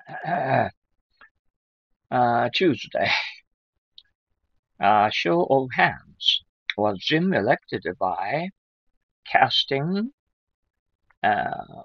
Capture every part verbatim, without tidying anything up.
uh, Tuesday, uh, show of hands. Was Jim elected by casting uh,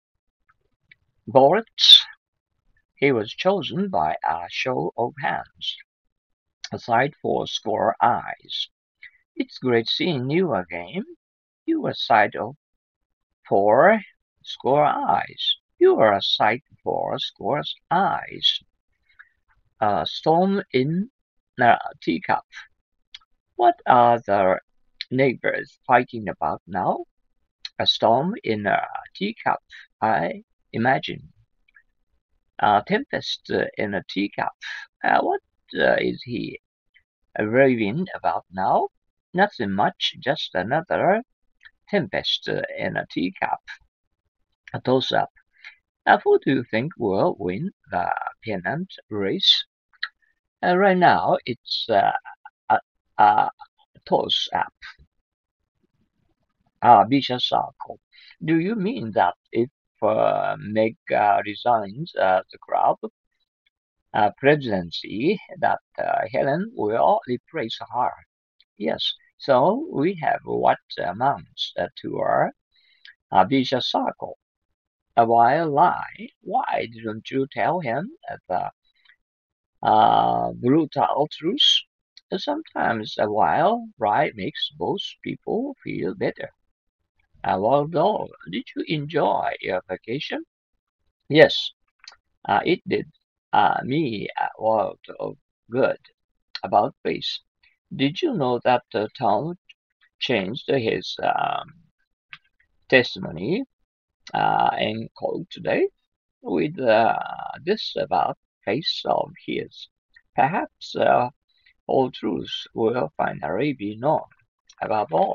ballots? He was chosen by a show of hands. Aside for score eyes. It's great seeing you again. You were a sight of for score eyes. You are a sight for score eyes. A storm in a teacup. What are the neighbors fighting about now? A storm in a teacup, I imagine. A tempest in a teacup. Uh, what uh, is he raving about now? Nothing much, just another tempest in a teacup. A toss-up. Uh, who do you think will win the pennant race? Uh, right now, it's uh, a, a toss-up. Uh, vicious circle. Do you mean that if uh, Meg uh, resigns uh, the club uh, presidency, that uh, Helen will replace her? Yes. So we have what amounts uh, to a, a vicious circle. A wild lie. Why didn't you tell him the uh, brutal truth? Sometimes a wild lie makes both people feel better. Uh, well, though, did you enjoy your vacation? Yes, uh, it did uh, me a lot of good. About face. Did you know that uh, Tom changed his um, testimony uh, in court today with uh, this about face of his? Perhaps uh, all truths will finally be known. Above all,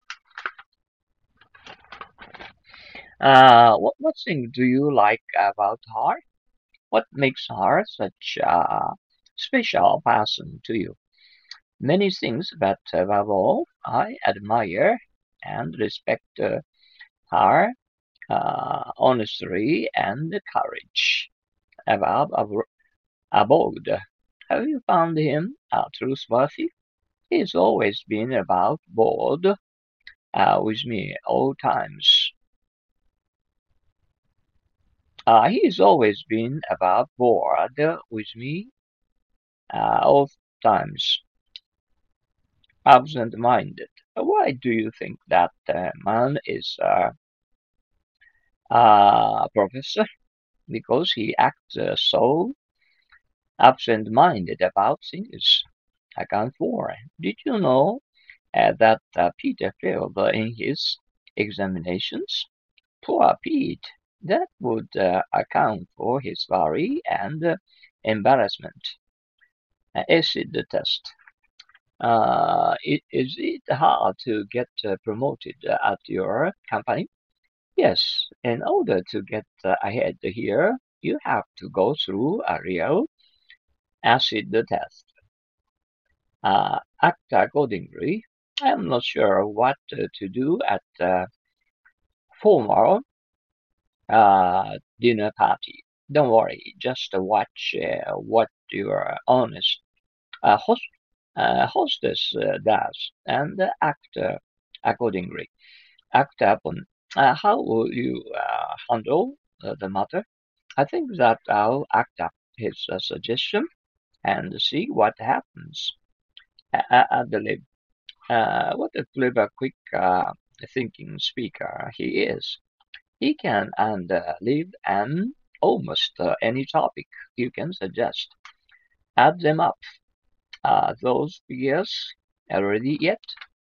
uh, what, what thing do you like about her? What makes her such a special person to you? Many things, but above all, I admire and respect uh, her uh, honesty and courage. Above, above, above, have you found him uh, trustworthy? He's always been about board uh, with me all times. Uh, he's always been about board with me uh, all times. Absent-minded. Why do you think that uh, man is uh, a professor? Because he acts uh, so absent-minded about things. Account four. Did you know uh, that uh, Peter failed uh, in his examinations? Poor Pete. That would uh, account for his worry and uh, embarrassment. Uh, acid test. Uh, it, is it hard to get uh, promoted uh, at your company? Yes, in order to get uh, ahead here, you have to go through a real acid test. Uh, act accordingly. I'm not sure what uh, to do at the formal uh, dinner party. Don't worry, just watch uh, what your honest uh, host, uh, hostess uh, does and act uh, accordingly. Act upon. Uh, how will you uh, handle uh, the matter? I think that I'll act up his uh, suggestion and see what happens. Uh, Adelaide, uh, what a clever, quick uh, thinking speaker he is. He can and uh, live on almost uh, any topic you can suggest. Add them up. Uh, those figures are ready yet?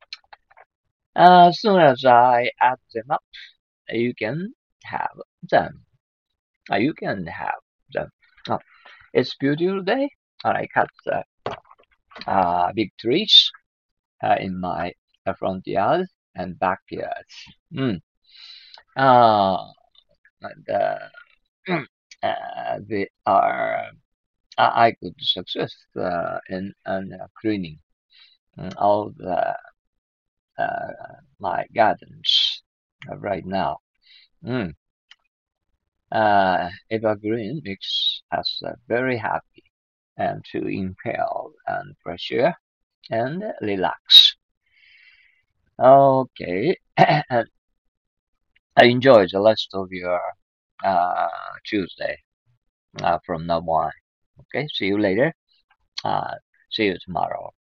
As soon as I add them up, you can have them. Uh, you can have them. Oh, it's beautiful day. I cut uh, uh, big trees uh, in my uh, front yard and backyard. Mm. Uh, and, uh, uh, they are I I could success uh, in, in uh, cleaning mm, all the uh, my gardens uh, right now. Mm. Uh, evergreen makes us uh, very happy and to inhale and fresh air and relax. Okay, and I enjoy the rest of your uh, Tuesday uh, from now on. Okay, see you later. Uh, see you tomorrow.